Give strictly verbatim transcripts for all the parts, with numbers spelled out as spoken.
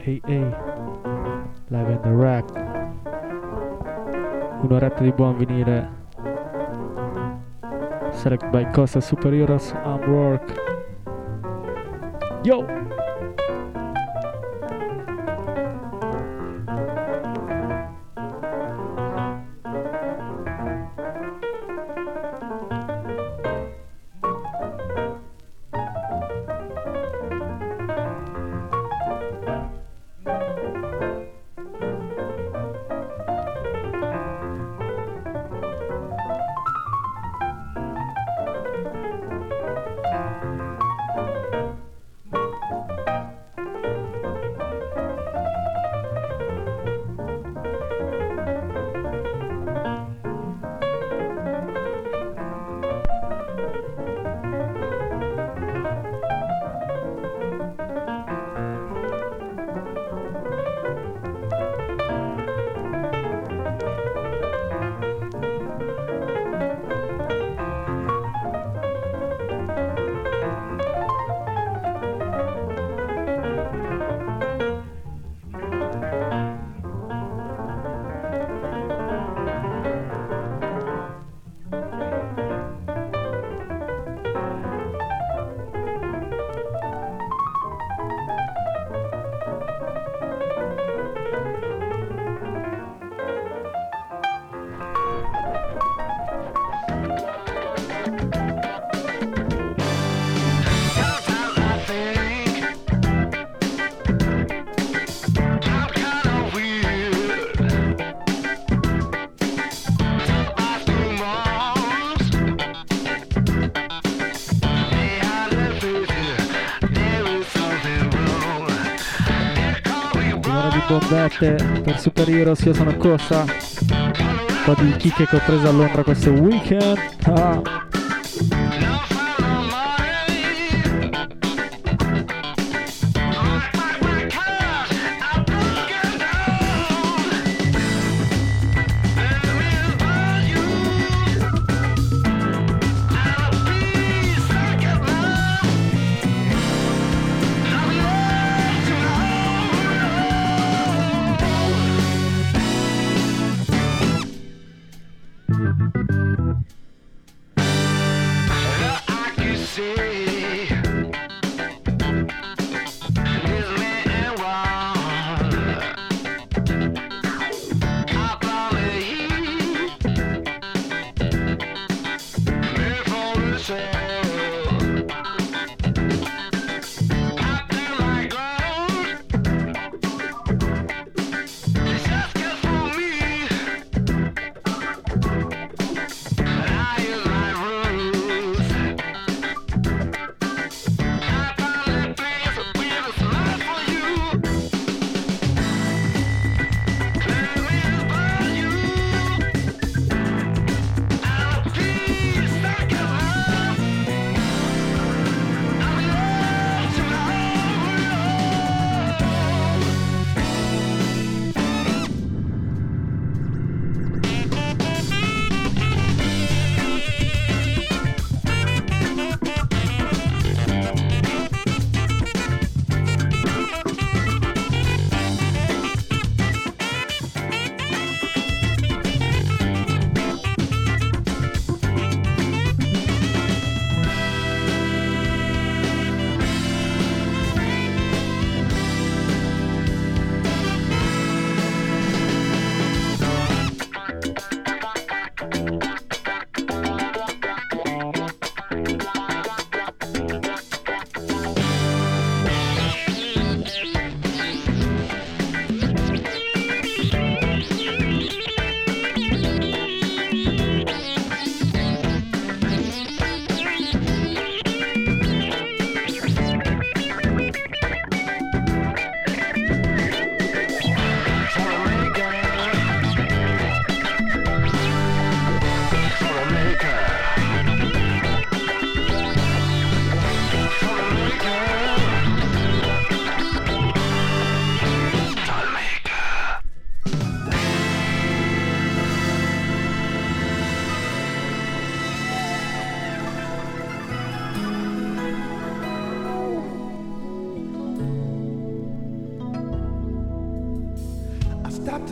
Hey hey, live and direct, un'oretta di buon vinile, select by Costa Superheroes and Work. Yo! Bombette per Super Heroes, io sono Costa, un po' di chicche che ho preso a Londra questo weekend. Ah.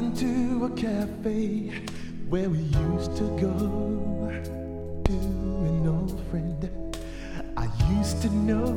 into a cafe where we used to go to an old friend I used to know.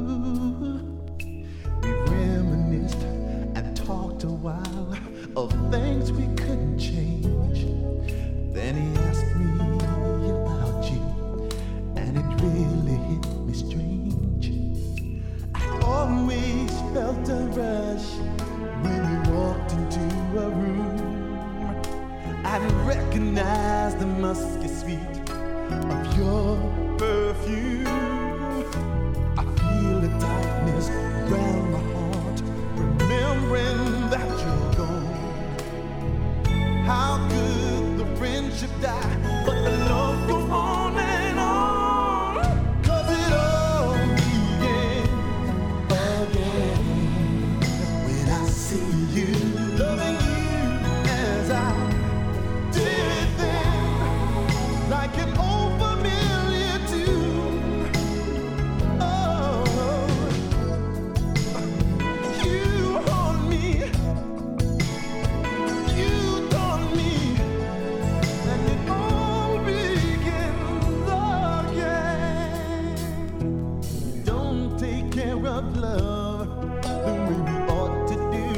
We reminisced and talked a while of things we couldn't change. Then he asked me about you, and it really hit me strange. I always felt a rush when we walked into a room. I recognized the musky sweet of your perfume. I feel the tightness round my heart, remembering that you're gone. How could the friendship die, but the love goes on and on? 'Cause it all began again when I see you, loving you as I did then, like an old familiar tune. Oh, you haunt me, you taunt me, and it all begins again. Don't take care of love the way we ought to do.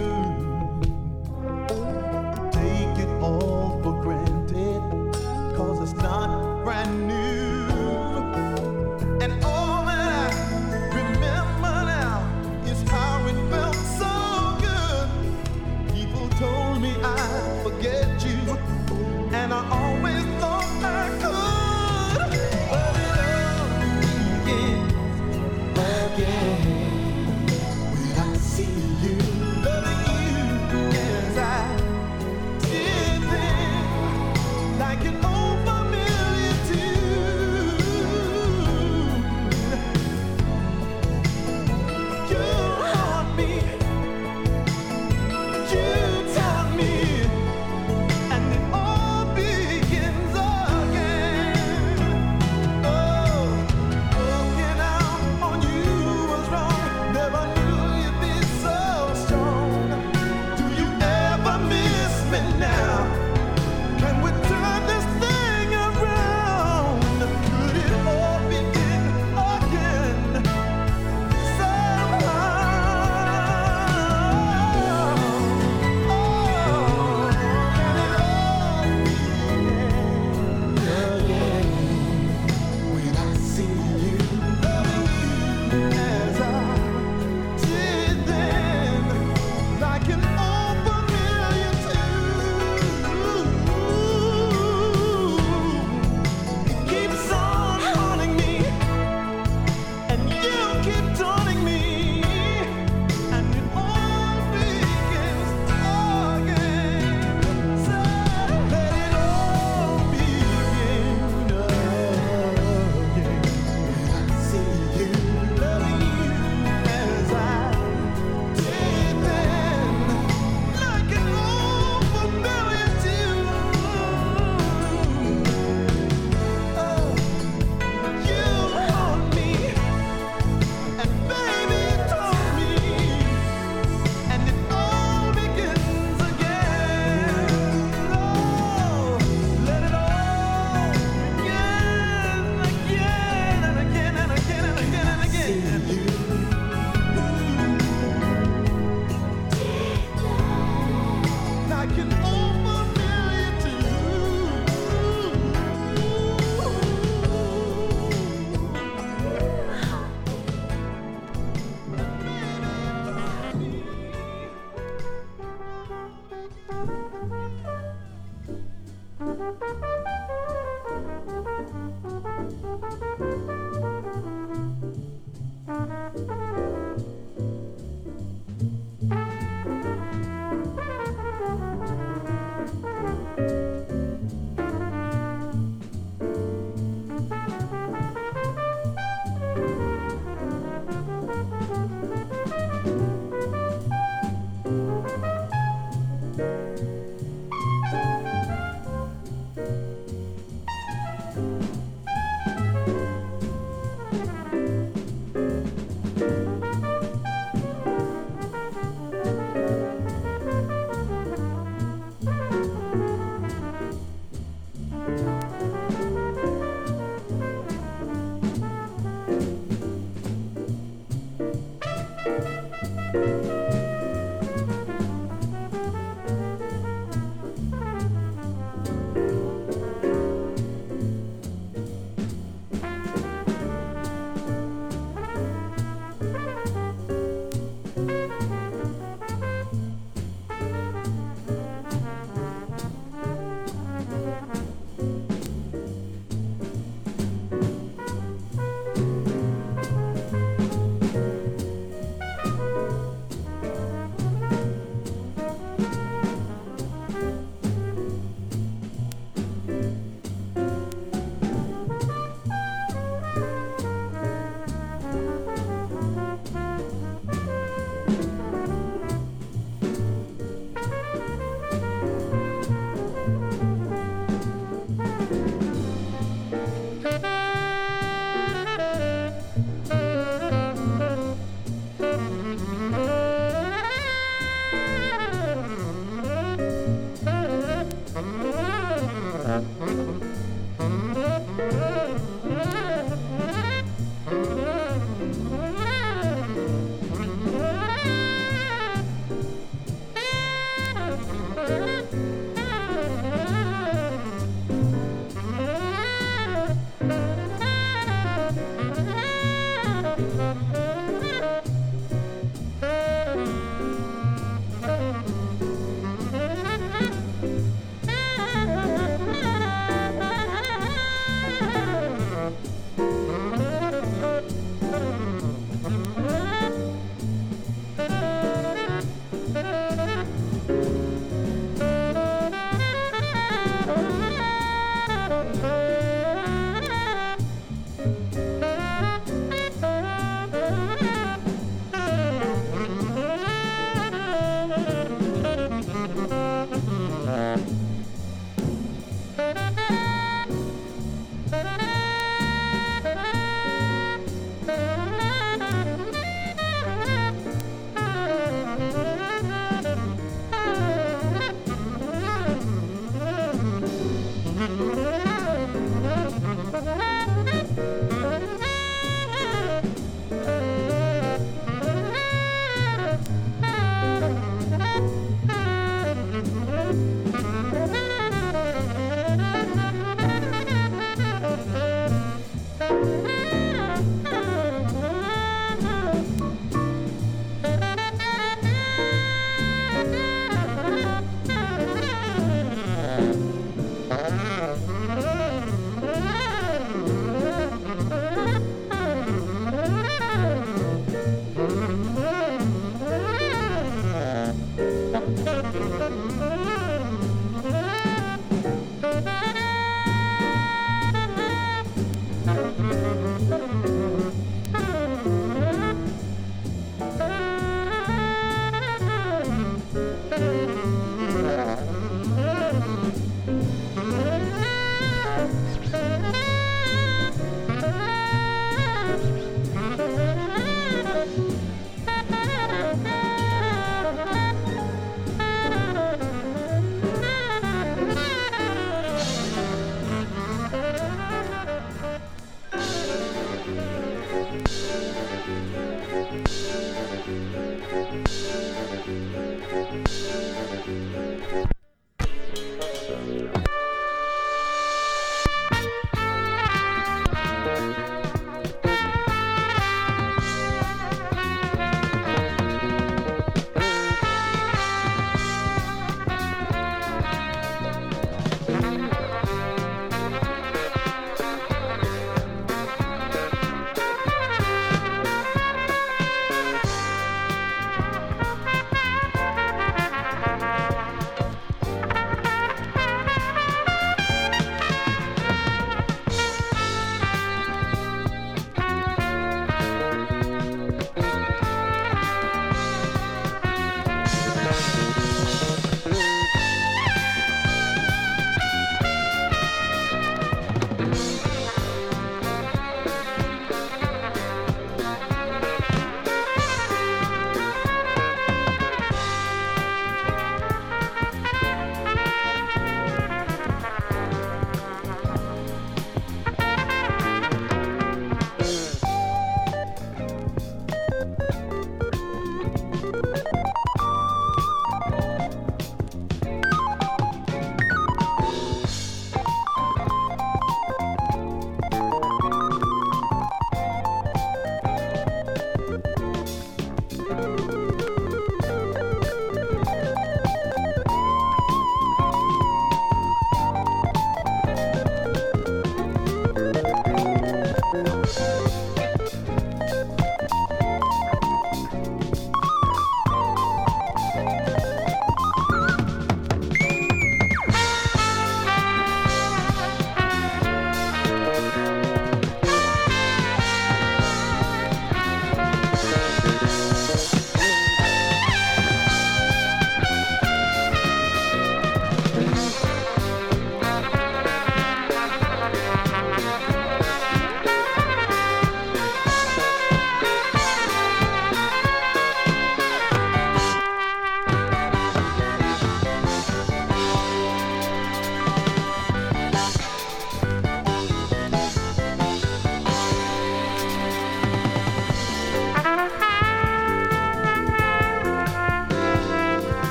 Take it all for granted, 'cause it's not brand new. And all that I remember now is how it felt so good. People told me I'd forget you, and I always thought I could. But it all begins again when I see you, loving you as I did then, like an old familiar tune. You haunt me, you taunt me, and it all begins again. Oh, walking out on you was wrong. Never knew you'd be so strong. Do you ever miss me now? Can we turn this thing around? Could it all begin again somehow? Oh, can it all begin again when I see you, loving you as I did then, like an old familiar tune. It keeps on haunting me, and you keep taunting me, and it all begins again. So let it all begin again when I see you, loving you as I did then, like an old familiar tune. Oh, you haunt me, and baby taunt me, and it all begins again. Oh, let it all begin again and again and again and again and again. Like an old familiar tune.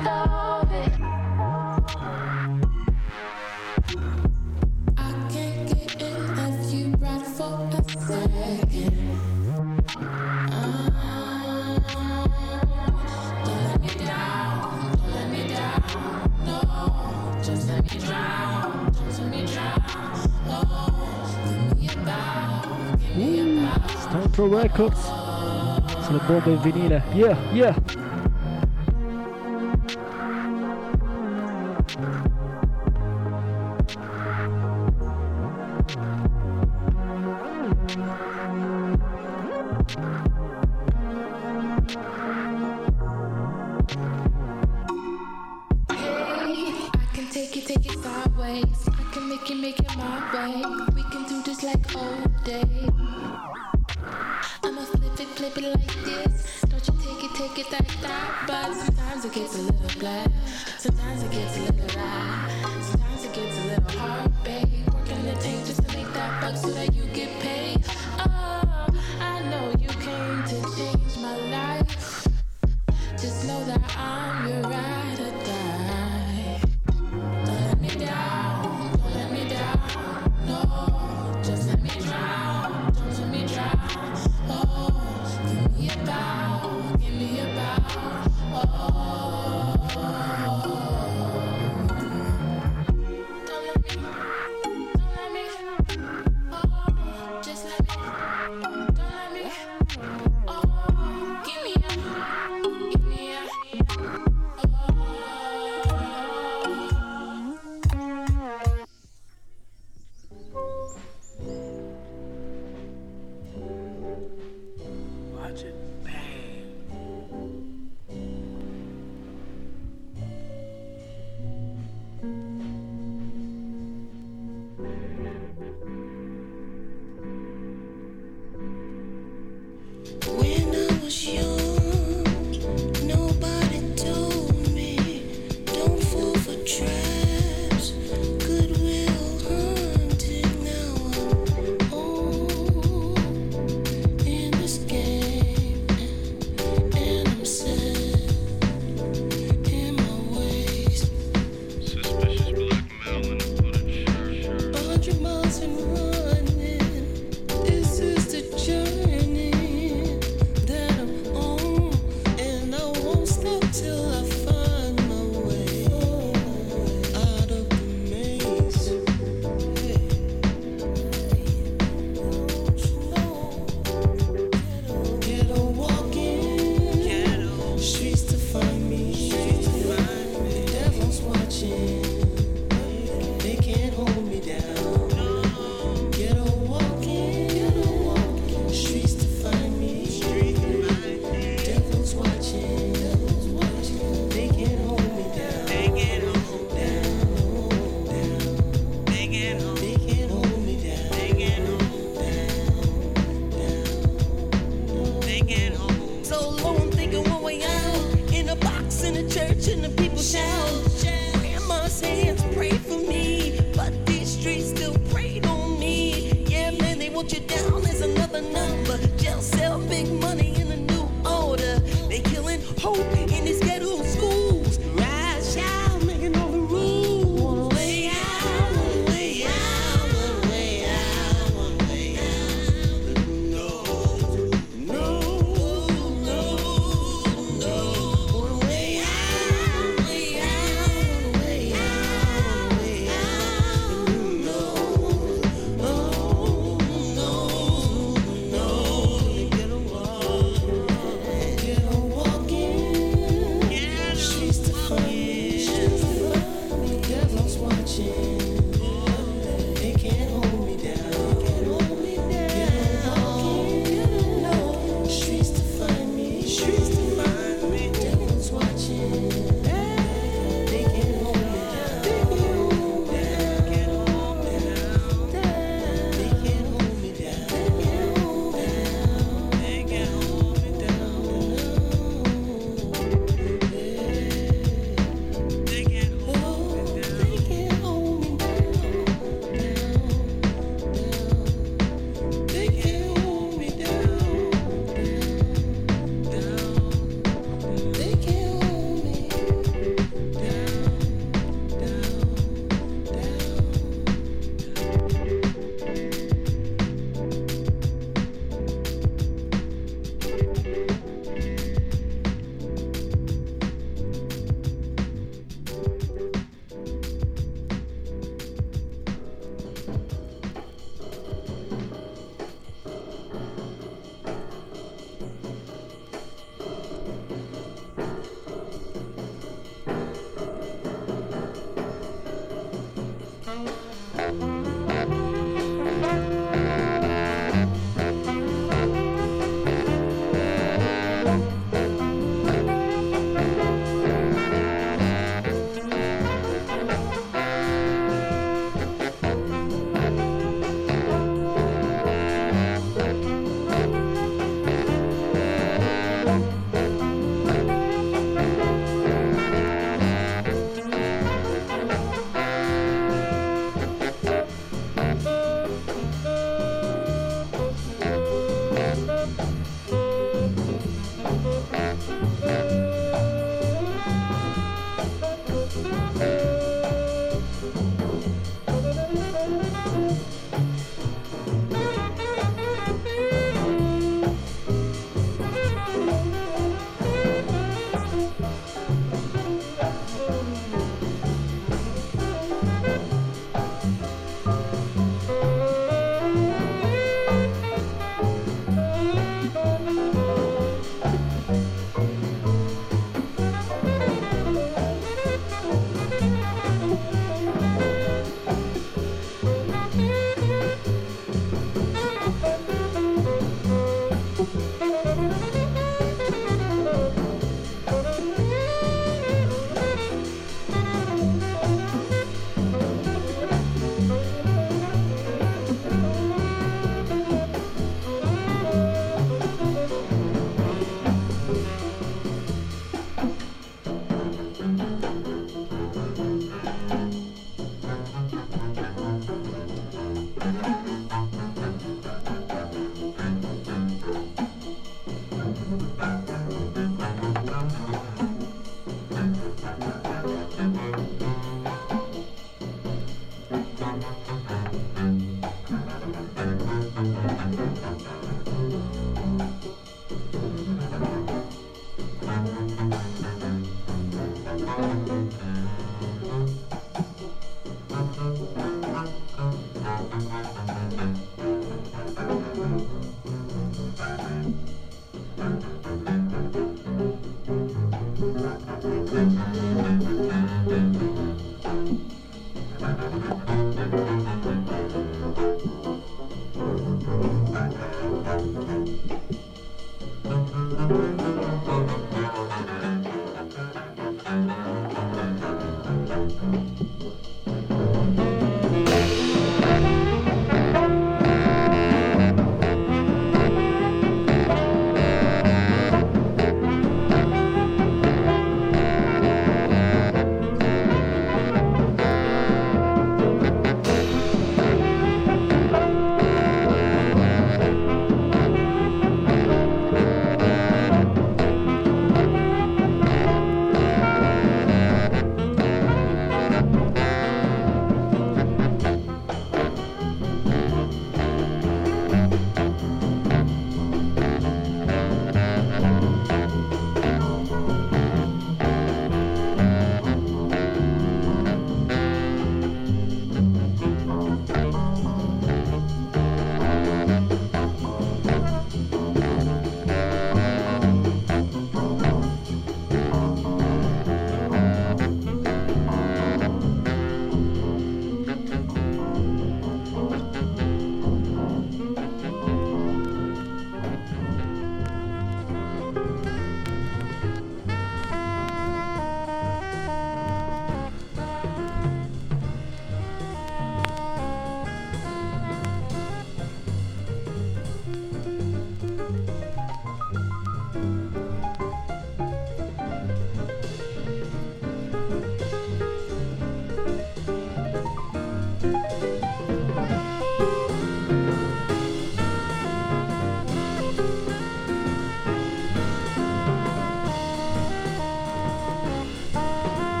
Records sulle bombe in vinile, yeah, yeah. Hold me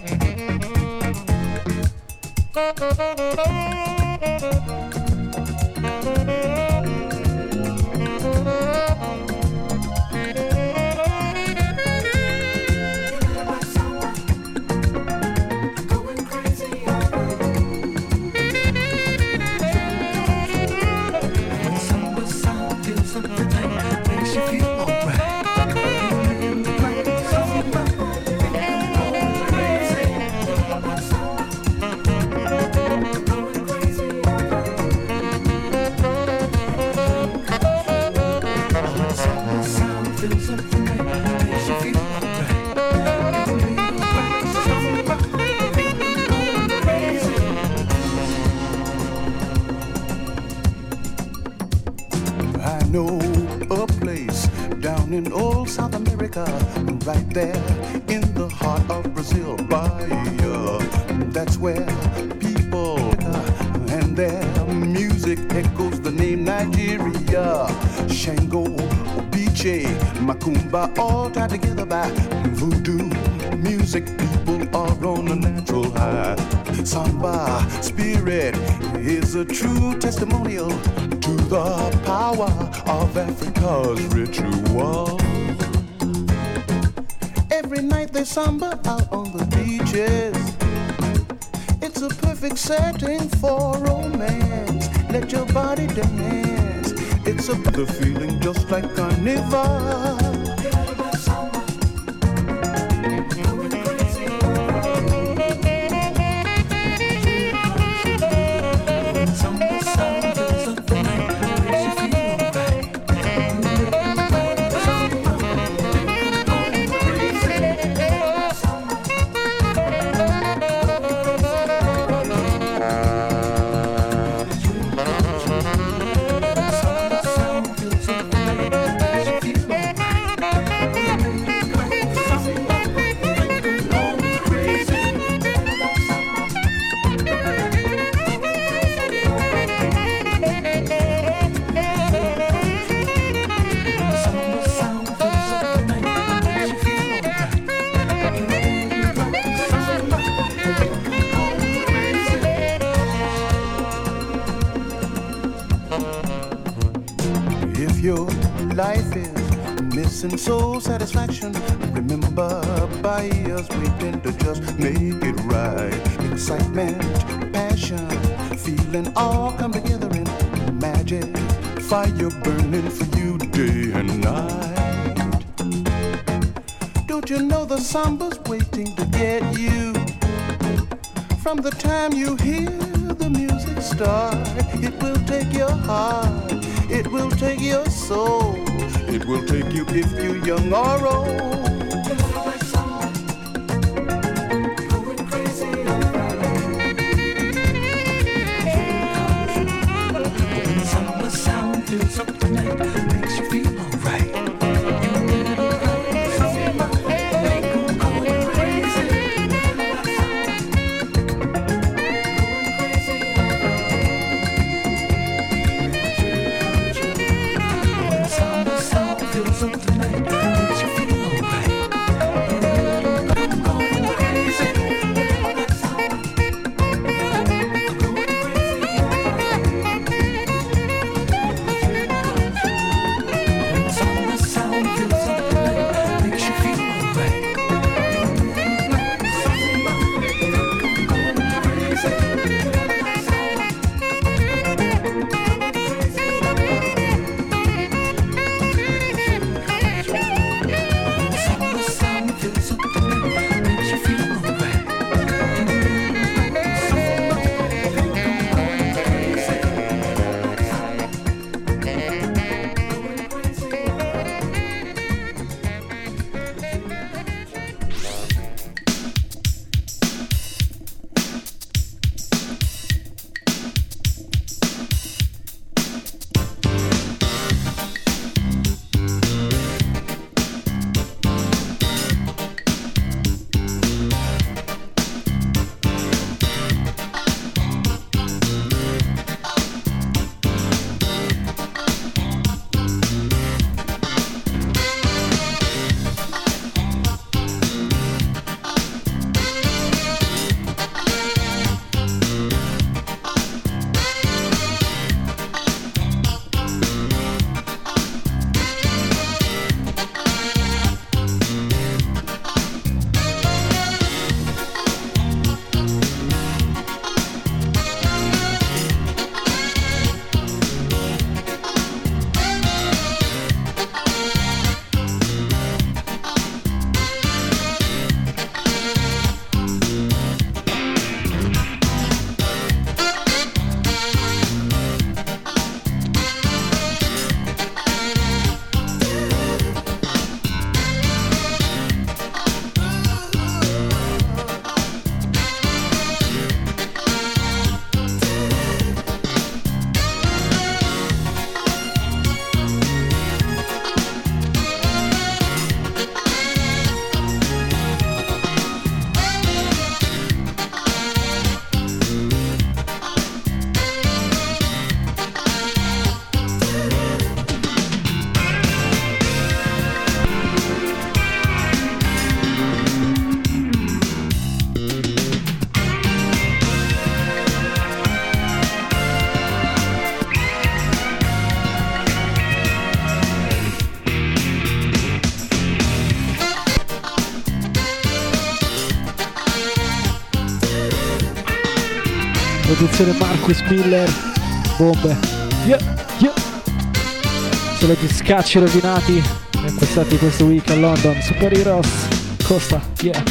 Right there in the heart of Brazil, Bahia. That's where people and their music echoes the name Nigeria. Shango, Obiche, Macumba, all tied together by voodoo music. People are on a natural high. Samba spirit is a true testimonial to the power of Africa's ritual. Every night they samba out on the beaches. It's a perfect setting for romance. Let your body dance. It's a the feeling just like carnival. And soul satisfaction. Remember, by us we tend to just make it right. Excitement, passion, feeling all come together in magic. Fire burning for you day and night. Don't you know the samba's waiting to get you? From the time you hear the music start, it will take your heart, it will take your soul. It will take you if you're young or old. Going crazy when samba sound fills up the night, makes you feel alright. Something like that makes you feel alright. Produzione Marcus Miller. Bombe. Yeah, yeah. Solo gli scacci rovinati impostati questo week a London. Super Heroes. Costa. Yeah.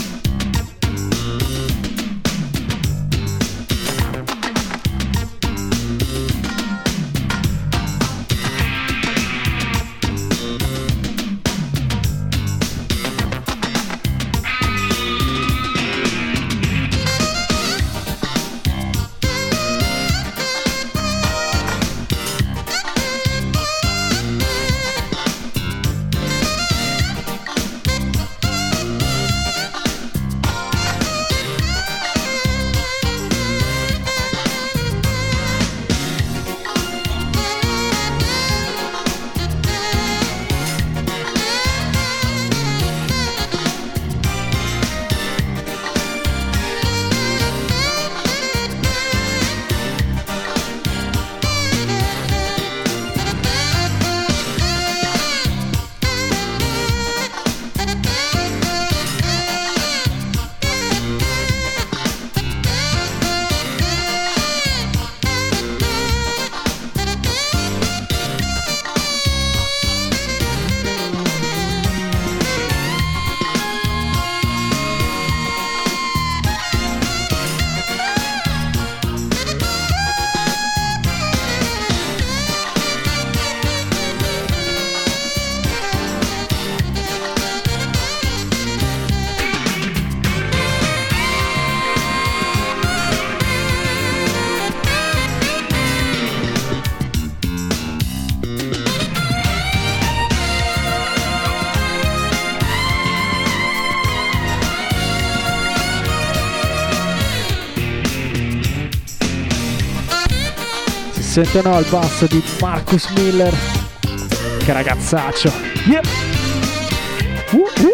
Sentono al basso di Marcus Miller. Che ragazzaccio. Yeah. Uh, uh.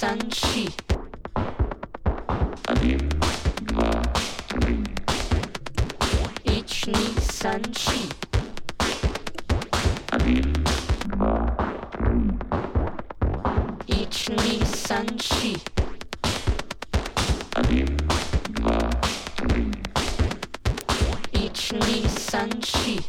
Sanchi. Ichni Sanchi. Ichni Sanchi. Ichni Sanchi.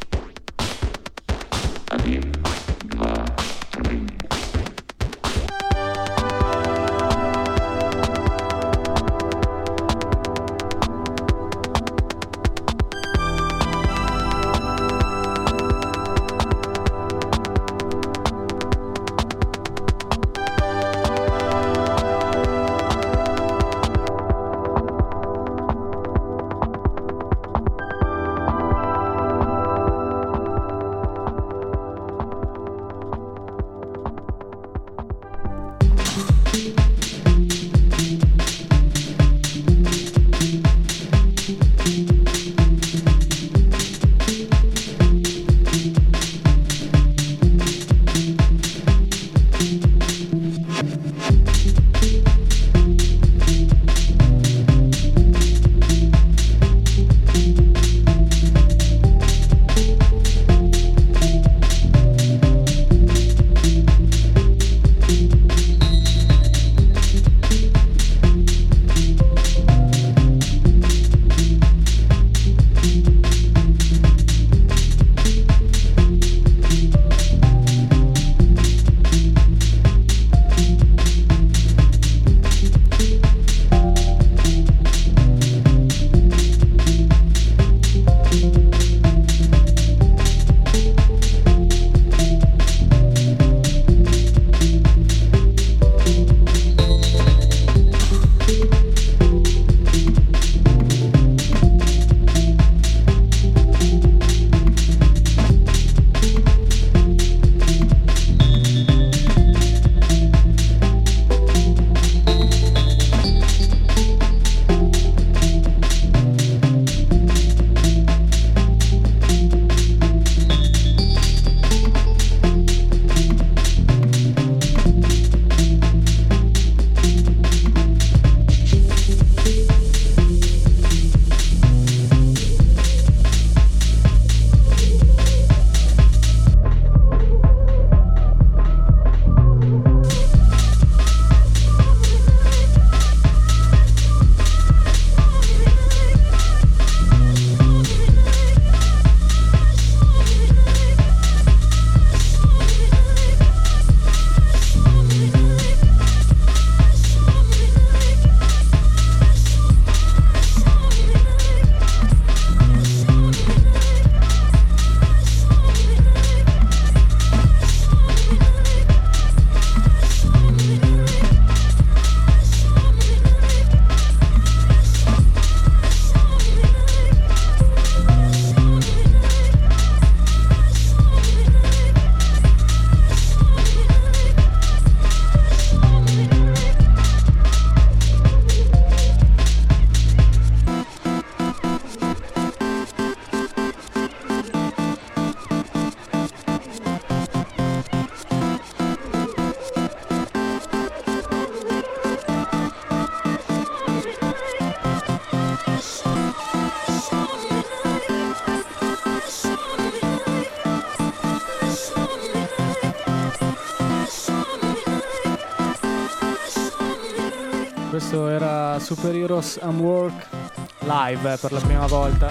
Questo era Super Heroes and Work live eh, per la prima volta.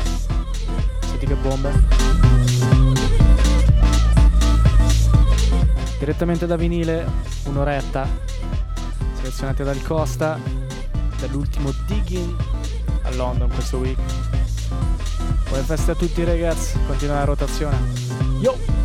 Senti che bombe. Direttamente da vinile, un'oretta, selezionate dal Costa, dall'ultimo Digging a London questo week. Buone feste a tutti ragazzi, continua la rotazione. Yo!